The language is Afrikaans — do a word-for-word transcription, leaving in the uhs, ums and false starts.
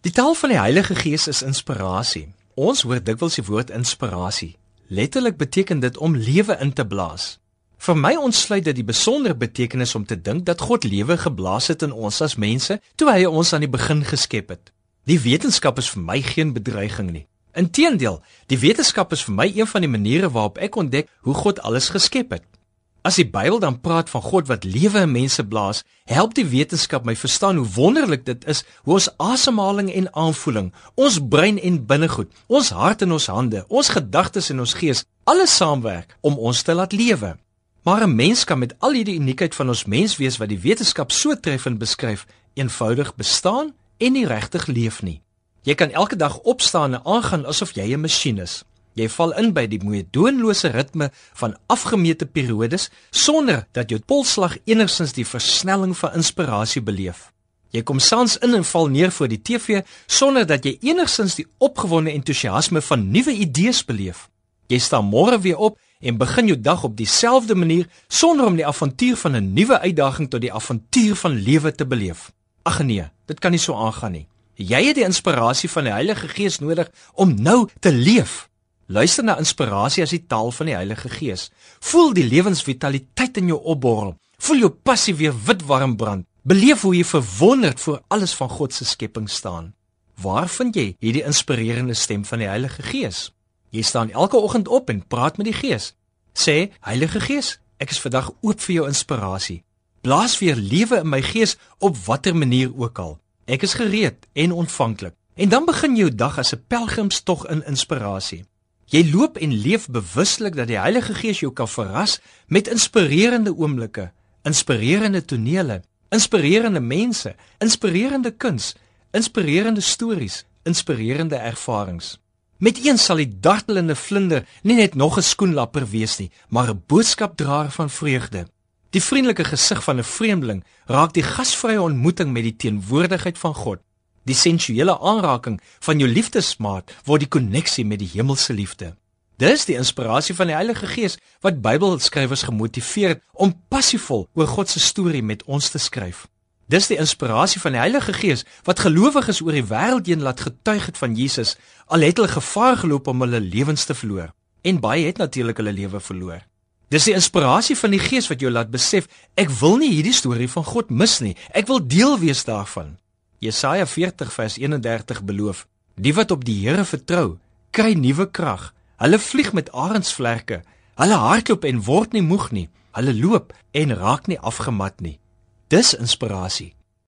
Die taal van die Heilige Gees is inspirasie. Ons hoor dikwels die woord inspirasie. Letterlik beteken dit om lewe in te blaas. Vir my ontsluit dit die besondere betekenis om te dink dat God lewe geblaas het in ons as mense toe hy ons aan die begin geskep het. Die wetenskap is vir my geen bedreiging nie. Inteendeel, die wetenskap is vir my een van die maniere waarop ek ontdek hoe God alles geskep het. As die Bybel dan praat van God wat lewe in mense blaas, help die wetenskap my verstaan hoe wonderlik dit is hoe ons asemhaling en aanvoeling, ons brein en binnegoed, ons hart en ons hande, ons gedagtes en ons gees, alles saamwerk om ons te laat lewe. Maar 'n mens kan met al hierdie uniekheid van ons menswees wat die wetenskap so treffend beskryf, eenvoudig bestaan en nie regtig leef nie. Jy kan elke dag opstaan en aangaan asof jy 'n masjien is. Jy val in by die moedoenlose ritme van afgemete periodes sonder dat jou polsslag enigstens die versnelling van inspirasie beleef. Jy kom saans in en val neer voor die T V sonder dat jy enigstens die opgewonde entoesiasme van nuwe idees beleef. Jy staan môre weer op en begin jou dag op dieselfde manier sonder om die avontuur van 'n nuwe uitdaging tot die avontuur van lewe te beleef. Ag nee, dit kan nie so aangaan nie. Jy het die inspirasie van die Heilige Gees nodig om nou te leef. Luister na inspirasie as die taal van die Heilige Gees. Voel die lewensvitaliteit in jou opborrel. Voel jou passie weer wit warm brand. Beleef hoe jy verwonderd voor alles van God se skepping staan. Waar vind jy hierdie inspirerende stem van die Heilige Gees? Jy staan elke oggend op en praat met die Gees. Sê, Heilige Gees, ek is vandag oop vir jou inspirasie. Blaas weer lewe in my gees op watter manier ook al. Ek is gereed en ontvanklik. En dan begin jou dag as 'n pelgrimstog in inspirasie. Jy loop en leef bewuslik dat die Heilige Gees jou kan verras met inspirerende oomblikke, inspirerende tonele, inspirerende mense, inspirerende kuns, inspirerende stories, inspirerende ervarings. Met een sal die dartelende vlinder nie net nog 'n skoenlapper wees nie, maar 'n boodskapdraer van vreugde. Die vriendelike gesig van 'n vreemdeling raak die gasvrye ontmoeting met die teenwoordigheid van God. Die sensuele aanraking van jou liefdesmaat word die koneksie met die hemelse liefde. Dis die inspirasie van die Heilige Gees wat Bybelskrywers gemotiveer het om passievol oor God se storie met ons te skryf. Dis die inspirasie van die Heilige Gees wat gelowiges oor die wêreld heen laat getuig het van Jesus, al het hulle gevaar geloop om hulle lewens te verloor. En baie het natuurlik hulle lewe verloor. Dis die inspirasie van die Gees wat jou laat besef, ek wil nie hierdie storie van God mis nie, ek wil deel wees daarvan. Jesaja veertig vers eenendertig beloof, die wat op die Here vertrou, kry nuwe krag. Hulle vlieg met arendsvlerke, hulle hardloop en word nie moeg nie, hulle loop en raak nie afgemat nie. Dis inspirasie.